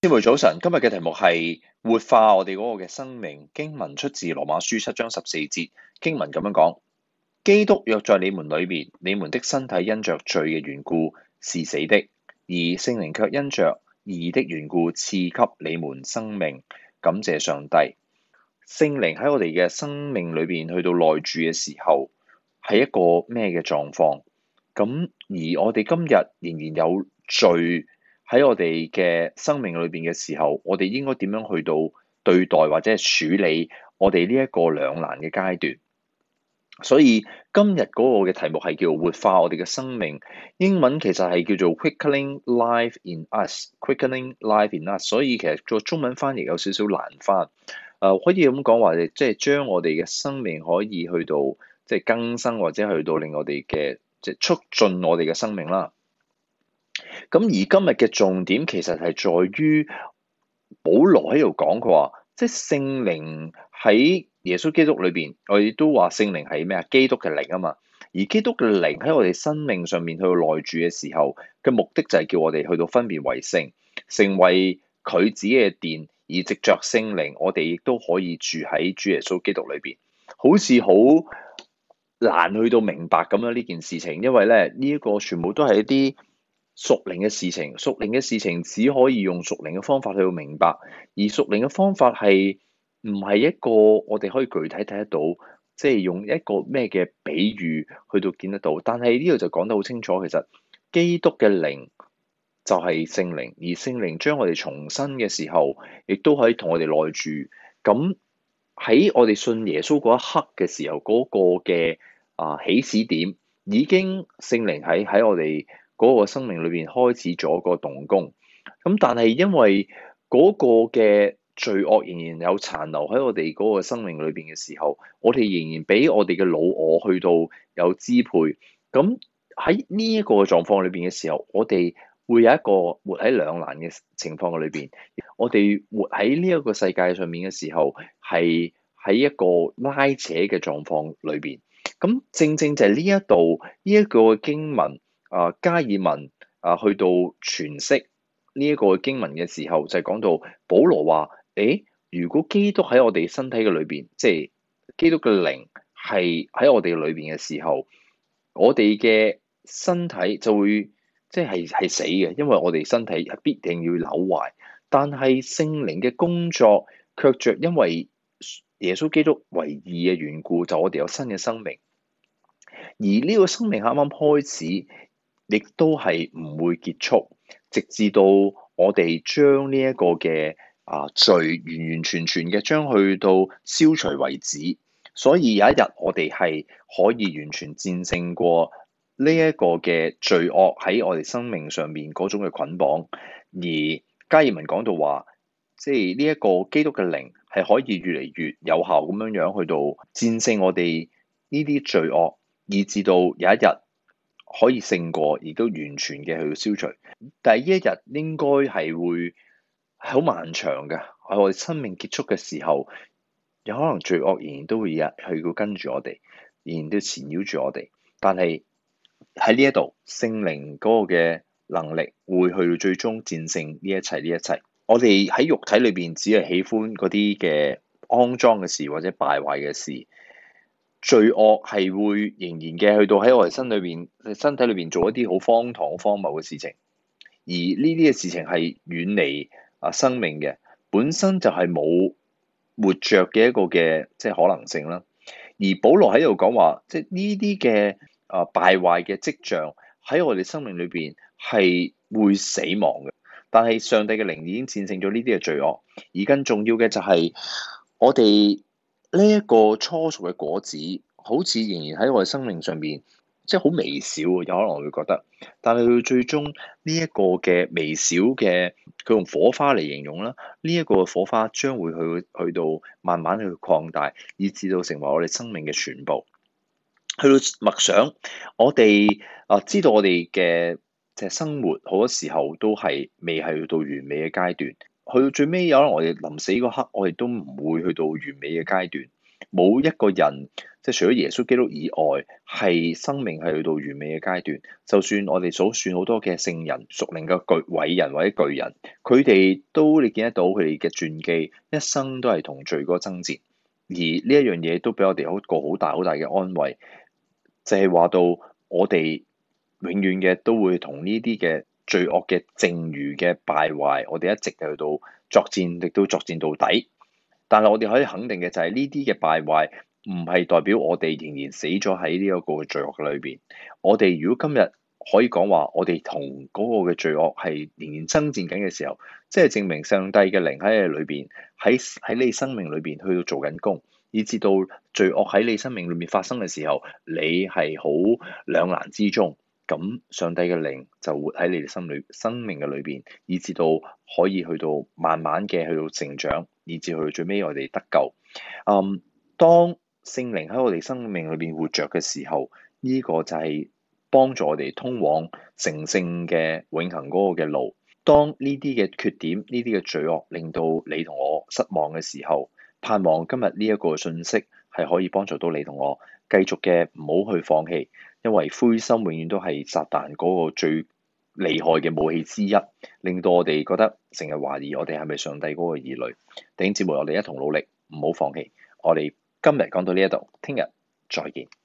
姊妹早晨，今日嘅題目係活化我哋嗰個嘅生命。經文出自羅馬書7章14節，經文咁樣講：基督若在你們裏面，你們的身體因着罪嘅緣故是死的，而聖靈卻因着義的緣故賜給你們生命。感謝上帝，聖靈喺我哋嘅生命裏邊去到內住嘅時候，係一個咩嘅狀況？咁而我哋今日仍然有罪喺我哋嘅生命裏邊嘅時候，我哋應該點樣去到對待或者係處理我哋呢一個兩難嘅階段？所以今日嗰個嘅題目係叫活化我哋嘅生命，英文其實係叫做 Quickening Life in Us，Quickening Life in Us。所以其實個中文翻譯有少少難翻。可以咁講話，即係將我哋嘅生命可以去到即係更新，或者去到令我哋嘅即係促進我哋嘅生命啦。咁而今日嘅重點其實係在於保羅喺度講，佢話即係聖靈喺耶穌基督裏邊，我哋都話聖靈係咩啊？基督嘅靈啊嘛。而基督嘅靈喺我哋生命上面去到內住嘅時候嘅目的就係叫我哋去到分別為聖，成為佢自己嘅殿，而藉着聖靈，我哋亦都可以住喺主耶穌基督裏邊。好似好難去到明白咁樣呢件事情，因為咧呢一個全部都係一啲屬靈嘅事情，屬靈嘅事情只可以用屬靈嘅方法去到明白，而屬靈嘅方法係唔係一個我哋可以具體睇得到，即係用一個咩嘅比喻去到見得到。但係呢度就講得好清楚，其實基督嘅靈就係聖靈，而聖靈將我哋重生嘅時候，亦都可以同我哋內住。咁喺我哋信耶穌嗰一刻嘅時候，嗰個嘅起始點已經聖靈喺我哋嗰個生命裏邊開始咗個動工。咁但係因為嗰個嘅罪惡仍然有殘留喺我哋嗰個生命裏邊嘅時候，我哋仍然俾我哋嘅老我去到有支配。咁喺呢一個狀況裏邊嘅時候，我哋會有一個活喺兩難嘅情況嘅裏邊。我哋活喺呢一個世界上面嘅時候，係喺一個拉扯嘅狀況裏邊。咁正正就係呢一度呢一個經文加爾文去到詮釋呢一個經文嘅時候，就係講到保羅話：如果基督喺我哋身體嘅裏邊，即係基督嘅靈係喺我哋裏邊嘅時候，我哋嘅身體就會即係死嘅，因為我哋身體必定要朽壞。但係聖靈嘅工作卻着因為耶穌基督為義嘅緣故，就我哋有新嘅生命。而呢個生命啱啱開始，亦都係唔會結束，直至到我哋將呢一個嘅罪完完全全嘅將去到消除為止。所以有一日我哋係可以完全戰勝過呢一個嘅罪惡喺我哋生命上面嗰種嘅捆綁。而加爾文講到話，即係呢一個基督嘅靈係可以越嚟越有效咁樣樣去到戰勝我哋呢啲罪惡，以至到有一日可以勝過，而都完全嘅去到消除。但係呢一日應該係會好漫長嘅，喺我哋生命結束嘅時候，有可能罪惡仍然都會有去到跟住我哋，仍然都纏繞住我哋。但係喺呢一度，聖靈嗰個嘅能力會去到最終戰勝呢一切，呢一切。我哋喺肉體裏邊只係喜歡嗰啲嘅骯髒嘅事或者敗壞嘅事，罪惡係會仍然嘅去到喺我哋身體裏邊做一啲好荒唐、好荒謬嘅事情。而呢啲嘅事情係遠離生命嘅，本身就係冇活着嘅一個嘅即係可能性啦。而保羅喺度講話，即係呢啲嘅敗壞嘅跡象喺我哋生命裏邊係會死亡嘅。但係上帝嘅靈已經戰勝咗呢啲嘅罪惡，而更重要嘅就係我哋呢一個初熟嘅果子，好似仍然喺我哋生命上邊，即係好微小，有可能會覺得，但係佢最終呢一個嘅微小嘅，佢用火花嚟形容啦，呢一個火花將會去到慢慢去擴大，以至到成為我哋生命嘅全部。去到默想，我哋知道我哋嘅即係生活好多時候都係未係去到完美嘅階段，去到最尾有可能我哋臨死嗰刻，我哋都唔會去到完美嘅階段。 冇一個人即係除咗耶穌基督以外，係生命係去到完美嘅階段。就算我哋數算好多嘅聖人、屬靈嘅偉人或者巨人，佢哋都你見得到佢哋嘅傳記，一生都係同罪嗰個爭戰。而呢一樣嘢都俾我哋一個好大好大嘅安慰，就係話到我哋永遠嘅都會同呢啲嘅罪惡嘅剩餘嘅敗壞，我哋一直去到作戰，亦都作戰到底。但係我哋可以肯定嘅就係呢啲嘅敗壞唔係代表我哋仍然死咗喺呢一個罪惡嘅裏邊。我哋如果今日可以講話，我哋同嗰個嘅罪惡係仍然爭戰緊嘅時候，即係證明上帝嘅靈喺你裏邊，喺你生命裏邊去到做緊工，以至到罪惡喺你生命裏面發生嘅時候，你係好兩難之中。咁上帝嘅靈就活喺你哋生命嘅裏邊，以至到可以去到慢慢嘅去到成長，以至去到最尾我哋得救。當聖靈喺我哋生命裏邊活着嘅時候，呢個就係幫助我哋通往成聖嘅永恆嗰個嘅路。當呢啲嘅缺點、呢啲嘅罪惡令到你同我失望嘅時候，盼望今日呢一個信息係可以幫助到你同我繼續嘅唔好去放棄。因為灰心永遠都係撒旦嗰個最厲害嘅武器之一，令到我哋覺得成日懷疑我哋係咪上帝嗰個兒女。弟兄姊妹，我哋一同努力，唔好放棄。我哋今日講到呢一度，聽日再見。